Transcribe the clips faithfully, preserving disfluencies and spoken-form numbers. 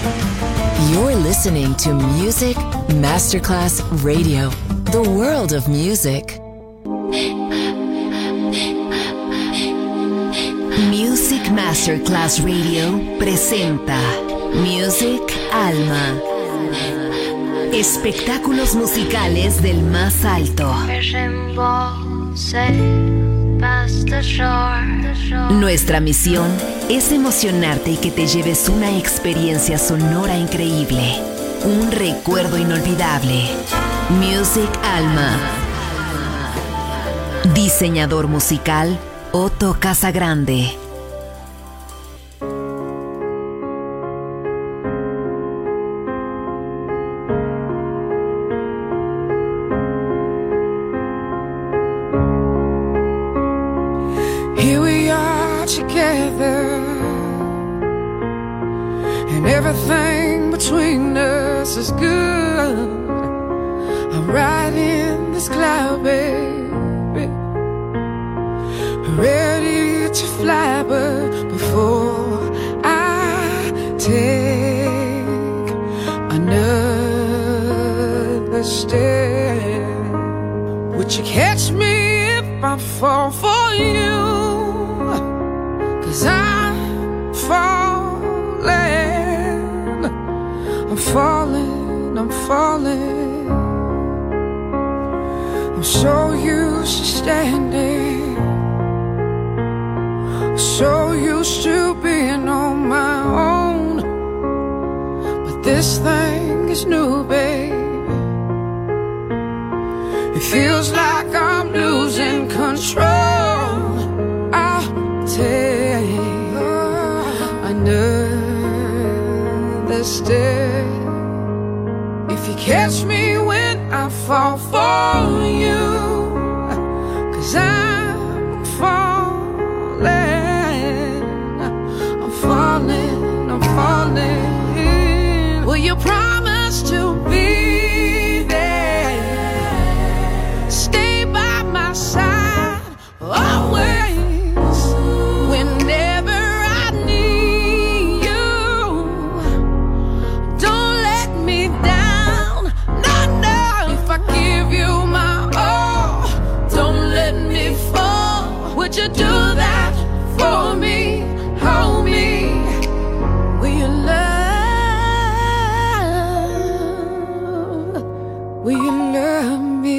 You're listening to Music Masterclass Radio, the world of music. Music Masterclass Radio presenta Music Alma. Espectáculos musicales del más alto. Nuestra misión es emocionarte y que te lleves una experiencia sonora increíble, un recuerdo inolvidable. Music Alma. Diseñador musical Otto Casagrande. Everything between us is good. I'm riding this cloud, baby, ready to fly. But before I take another step, would you catch me if I fall for you? 'Cause I'm falling, I'm falling, I'm falling. I'm so used to standing, so used to being on my own. But this thing is new, babe. It feels like I'm losing control. I'll take another step. If you catch me when I fall for you, 'cause I'm falling, I'm falling, I'm falling. Will you promise to be there, stay by my side always, whenever I need you? Don't let me down, no, no. If I give you my all, don't let me fall. Would you do that for me? Hold me. Will you love? Will you love me?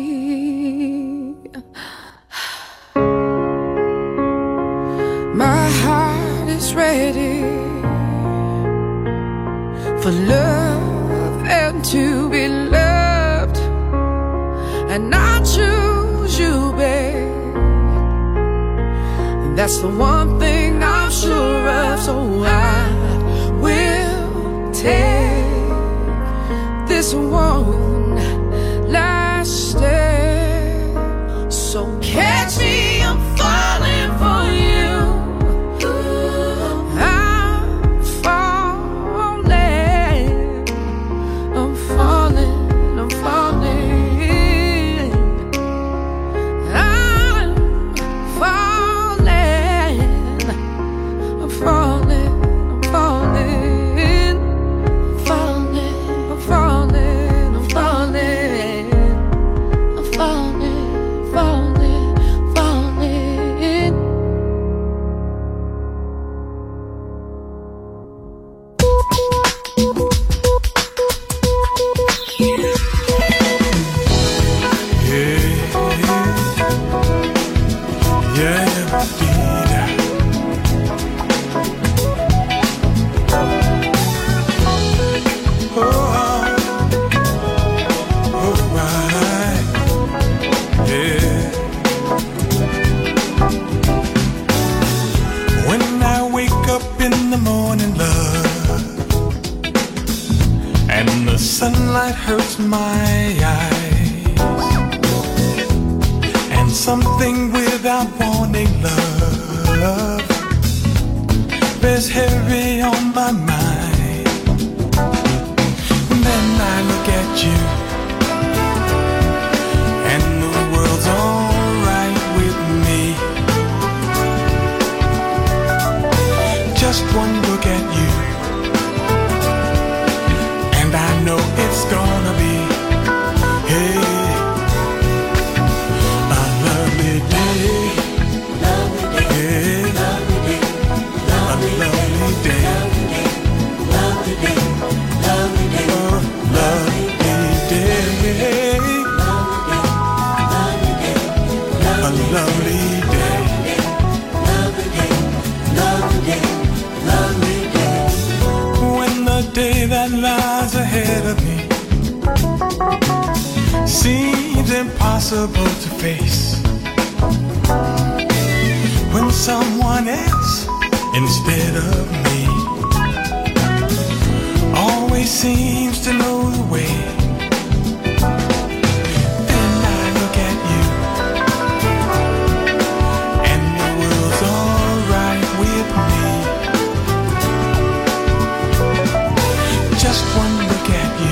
My heart is ready for love and to be loved, and I choose you, babe. And that's the one thing I'm sure of, so I will take this one last step. So catch me, I'm falling for you. I'm falling, I'm falling, I'm falling. I'm falling, I'm falling, I'm falling, falling, I'm falling, I'm falling, I'm falling, falling, falling. When I wake up in the morning, love, and the sunlight hurts my eyes, and something without warning, love, bears heavy on my mind. Then I look at you, and the world's alright with me. Just one look at you, seems impossible to face. When someone else instead of me always seems to know the way. Then I look at you and the world's alright with me. Just one look at you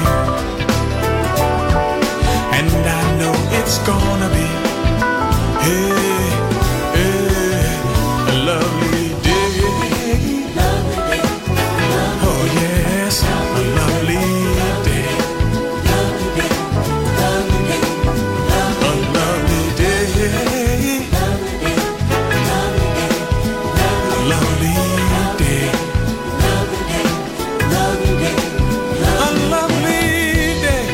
and I know it's gonna be hey, hey, a lovely day. Lovely day. Oh yes, a lovely day. Lovely day. Lovely day. A lovely day. Lovely day. Lovely day. A lovely day.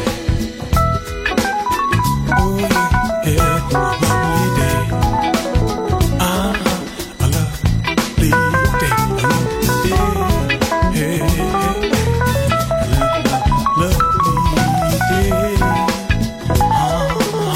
Oh yeah, lovely day. Ah, a lovely day. A lovely day. Hey, hey, hey. Lovely day. Ah.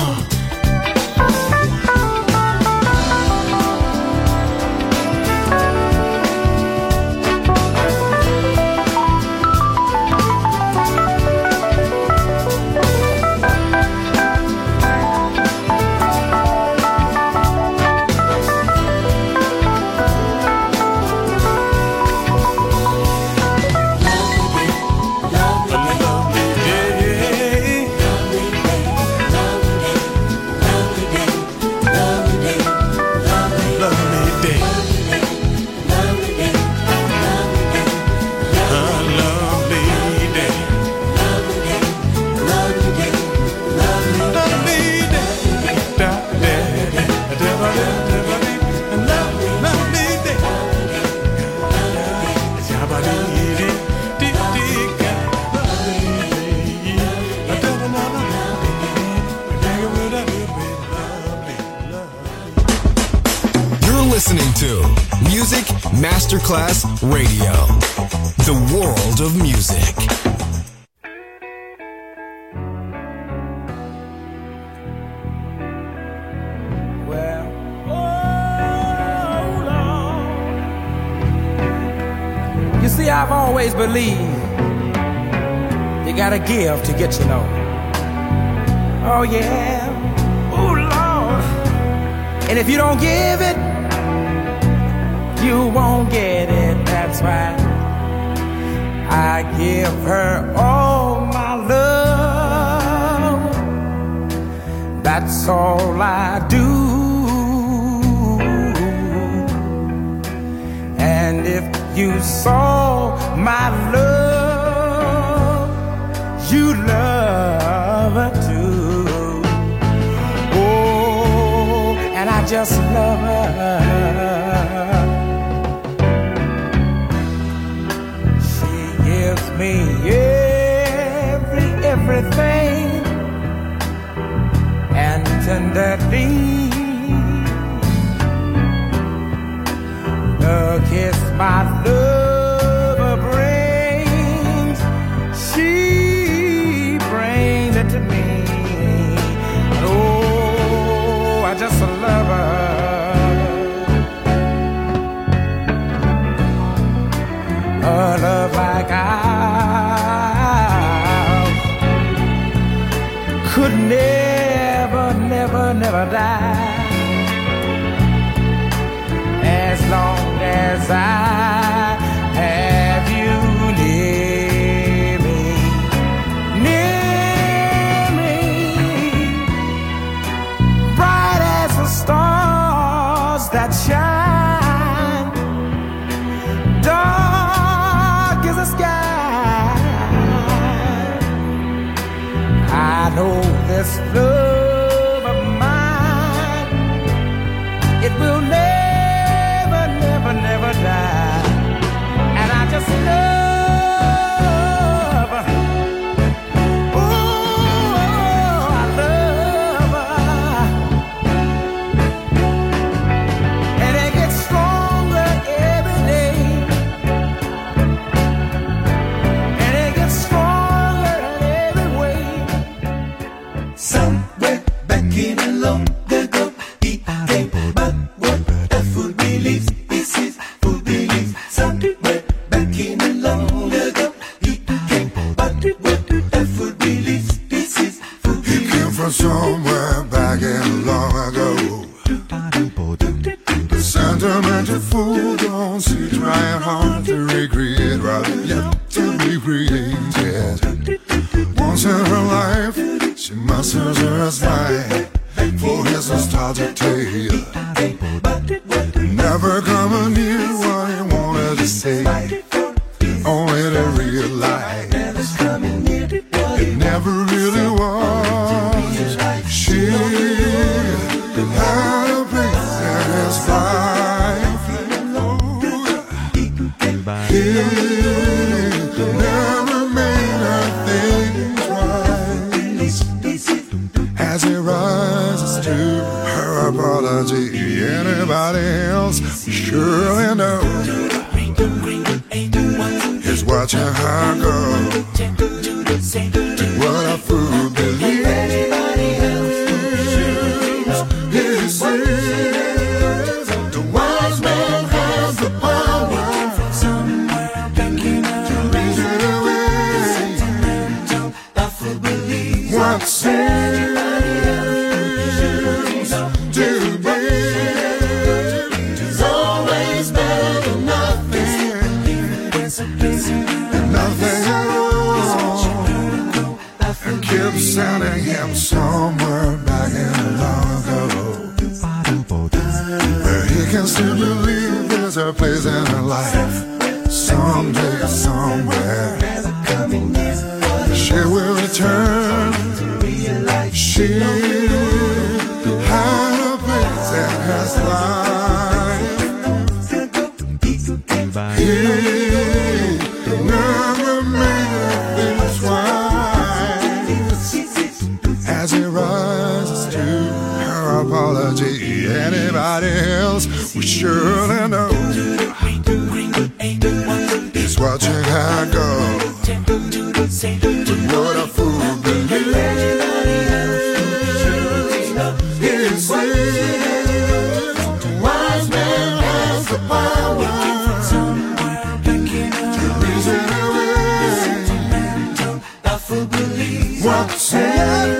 You're listening to Music Masterclass Radio, the world of music. Well, oh Lord. You see, I've always believed you gotta give to get to know. Oh yeah, oh Lord. And if you don't give it, you won't get it. That's why I give her all my love. That's all I do. And if you saw my love, you love her too. Oh, and I just love her. Me every everything and tenderly the kiss my love brings, she brings it to me. Oh, I just love her. A love like I could never, never, never die. As long as I have you near me, near me, bright as the stars that shine, dark as the sky. I know this love of mine, it will never, never, never die. And I just love her. Oh, I love her. And it gets stronger every day. And it gets stronger in every way. Some created. Once in her life, she musters her slide for his nostalgic tale. Never coming near what he wanted to say, only to realize it never really was. She had a place in his life. He never made her things right. As he rises to her apology, anybody else surely knows he's watching her go. What a fool believes. He says the wise man has the power to reason away what seems to be is always better than nothing, and nothing at all. And keeps sending him somewhere back in long ago, where he can still believe there's a place in her life. Someday, somewhere, she will return. She had a place in his life. He never made her things right. As he rises to her apology, anybody else will surely know he's watching her go. But what a fool believes. He says the wise man has the power to reason away what seems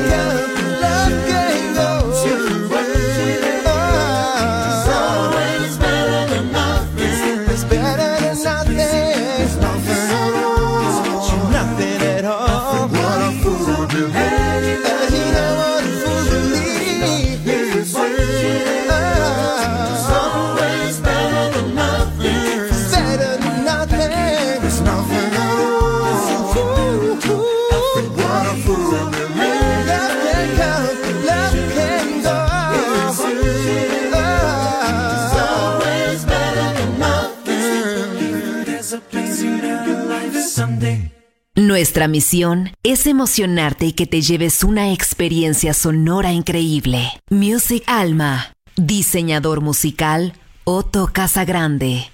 Nuestra misión es emocionarte y que te lleves una experiencia sonora increíble. Music Alma. Diseñador musical, Otto Casagrande.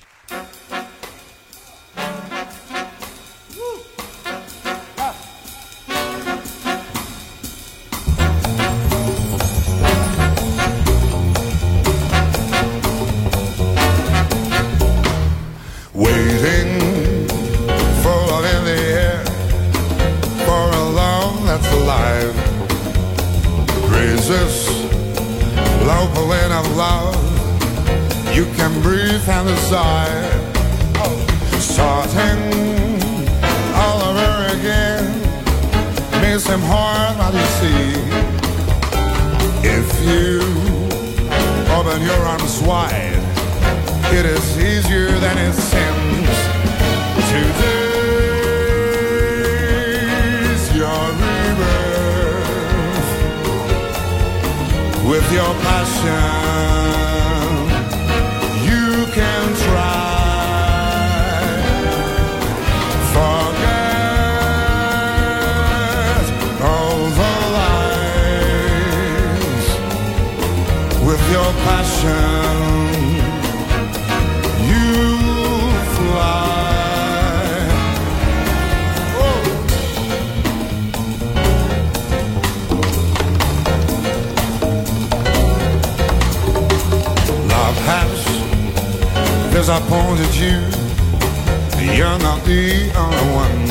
Disappointed you, you're not the only one.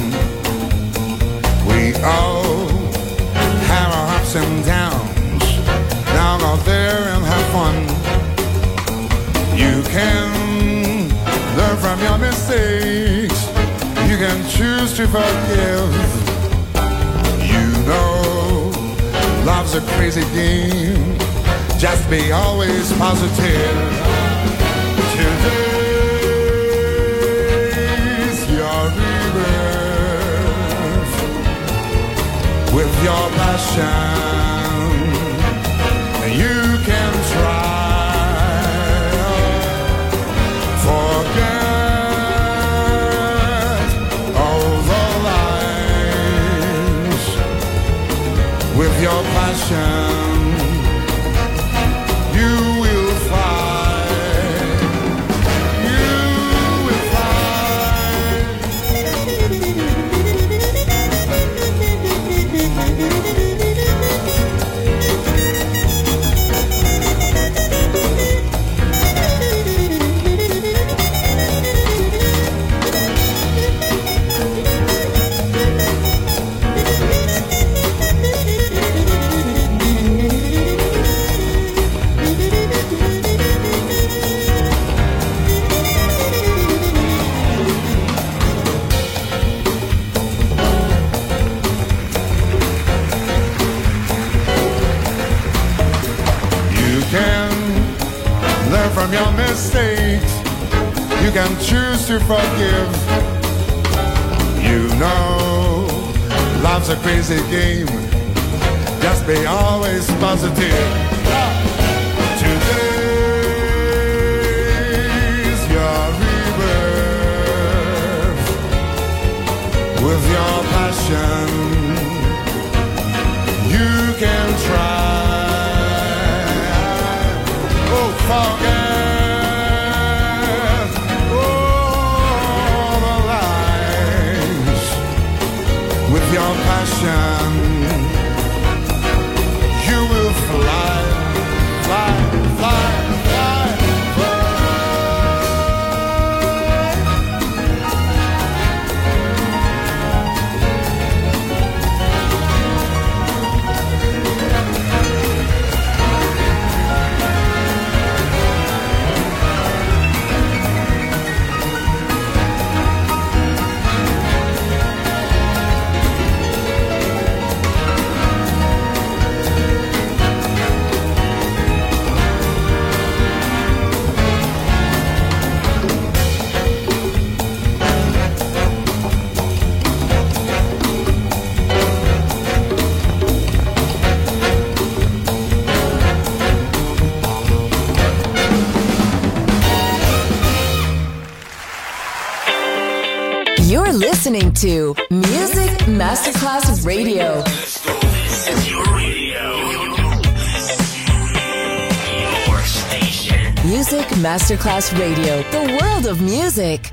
We all have our ups and downs. Now go there and have fun. You can learn from your mistakes. You can choose to forgive. You know love's a crazy game. Just be always positive. Today's your rebirth with your passion. You can try forget all the lies with your passion. From your mistakes, you can choose to forgive. You know love's a crazy game. Just be always positive. Today's your rebirth with your passion. You can try. Oh, forget. Your passion, you will fly, fly, fly, fly, You're listening to Music Masterclass Radio. This is your radio. Your station. Music Masterclass Radio. The world of music.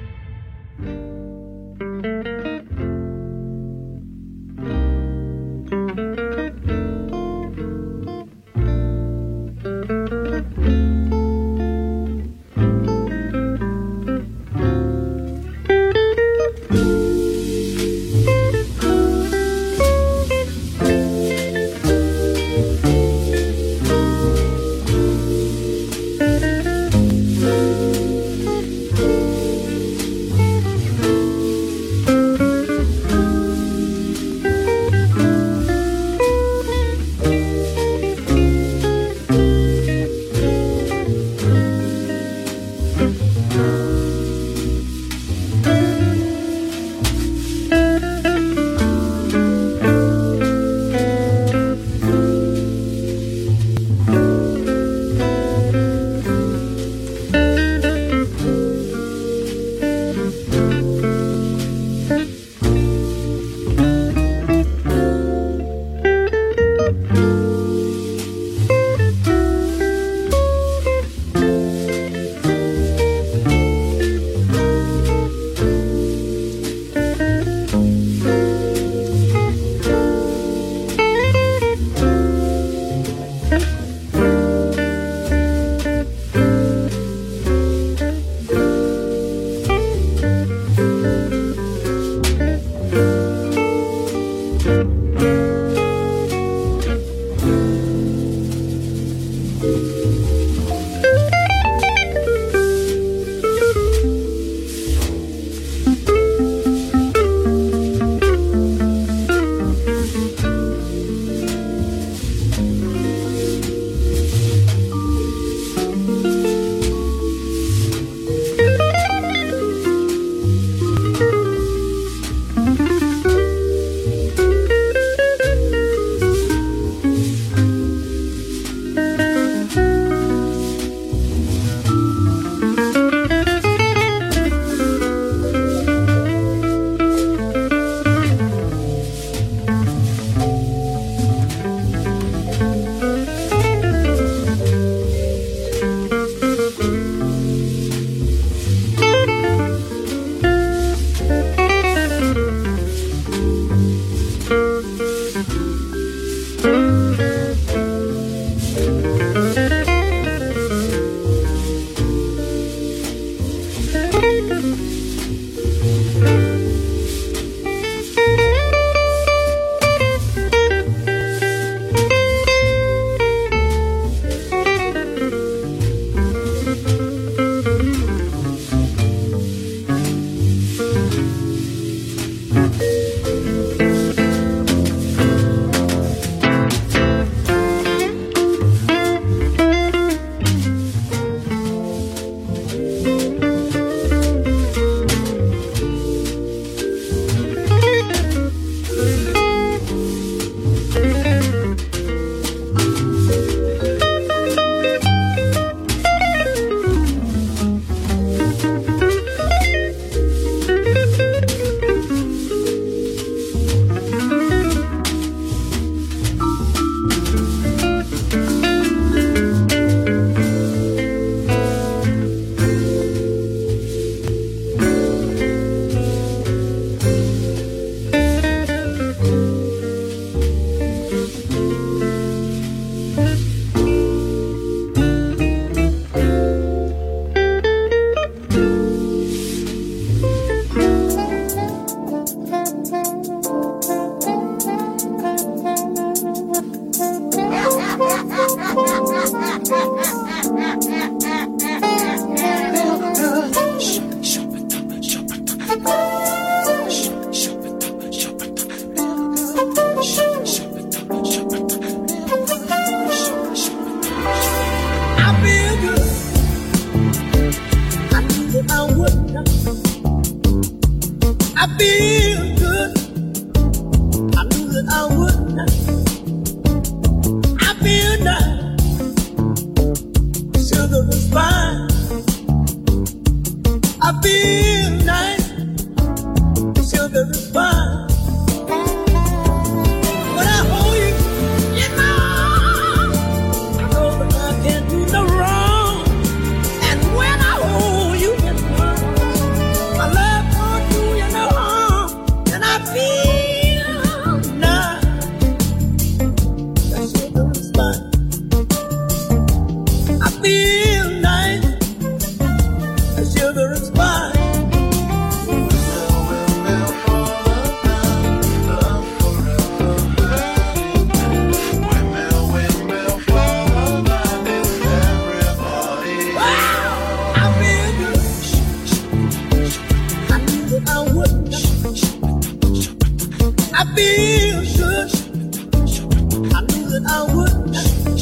feel good. I knew that I would.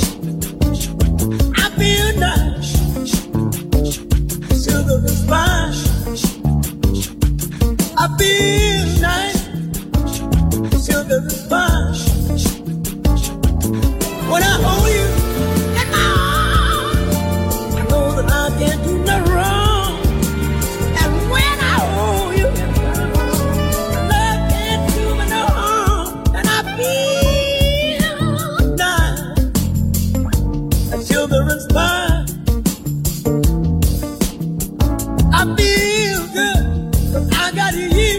I feel nice. Sugar is fine. I feel nice. Sugar is fine. When I hold you in my arms, I know that I can't do no wrong. And when I hold you in my arms, love can't do me no harm. And I feel nice. And sugar is fine. I feel good, 'cause I got you here.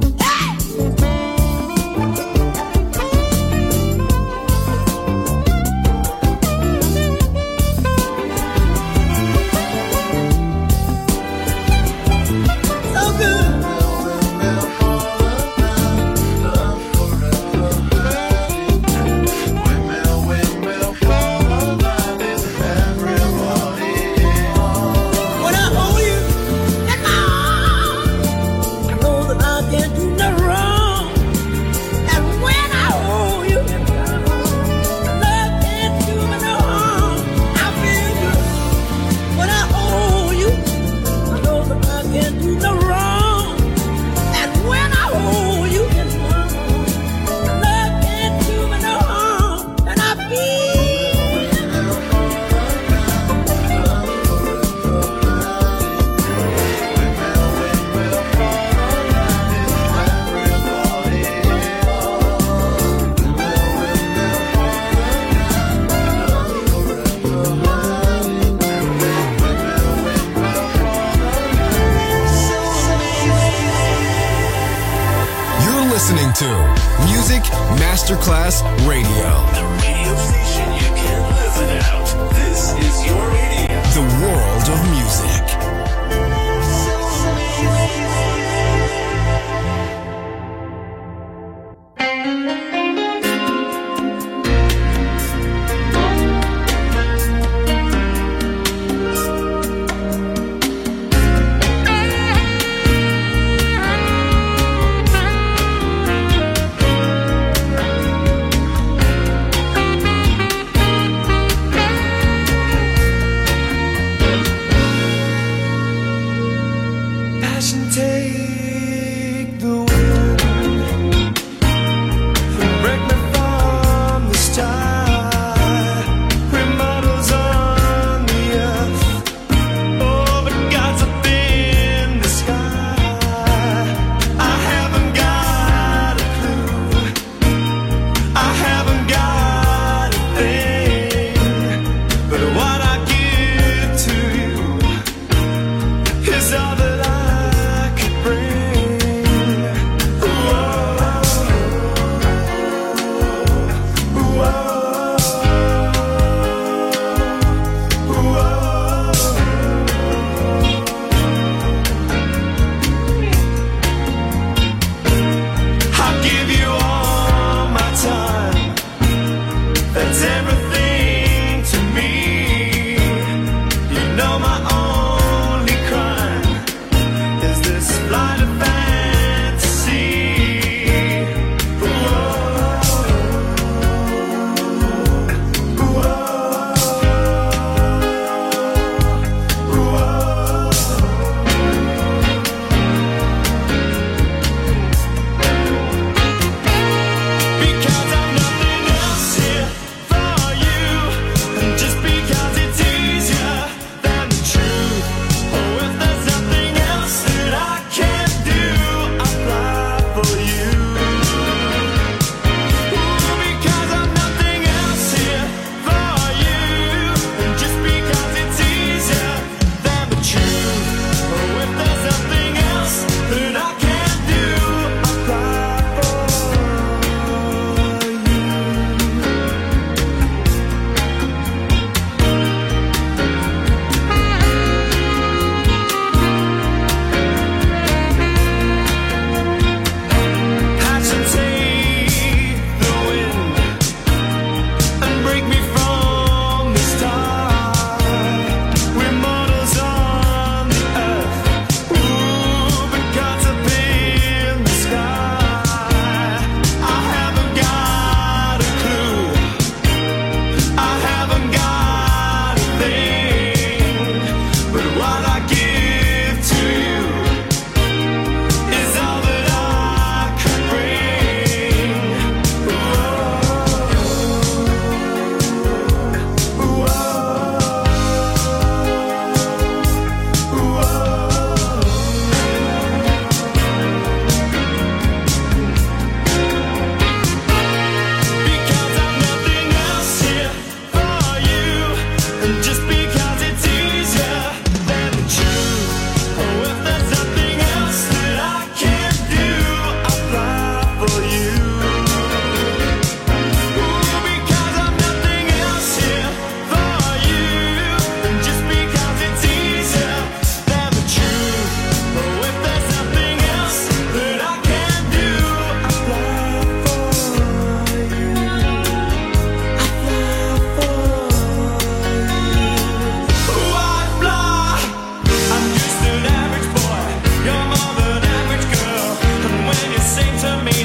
Listening to Music Masterclass Radio. The radio station you can't live without. This is your radio. The world of music.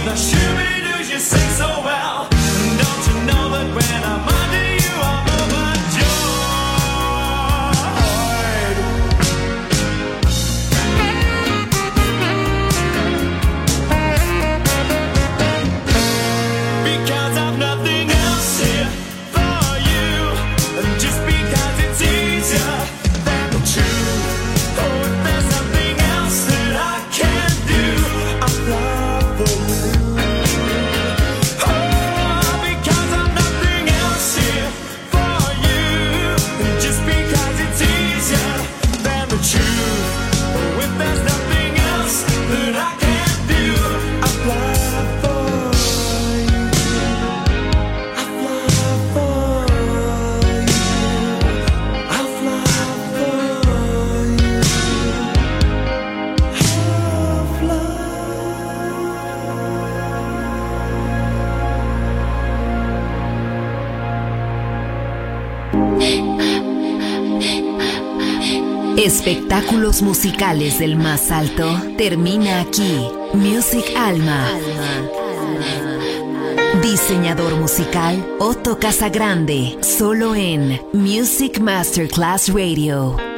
Espectáculos musicales del más alto termina aquí. Music Alma. Diseñador musical Otto Casagrande, solo en Music Masterclass Radio.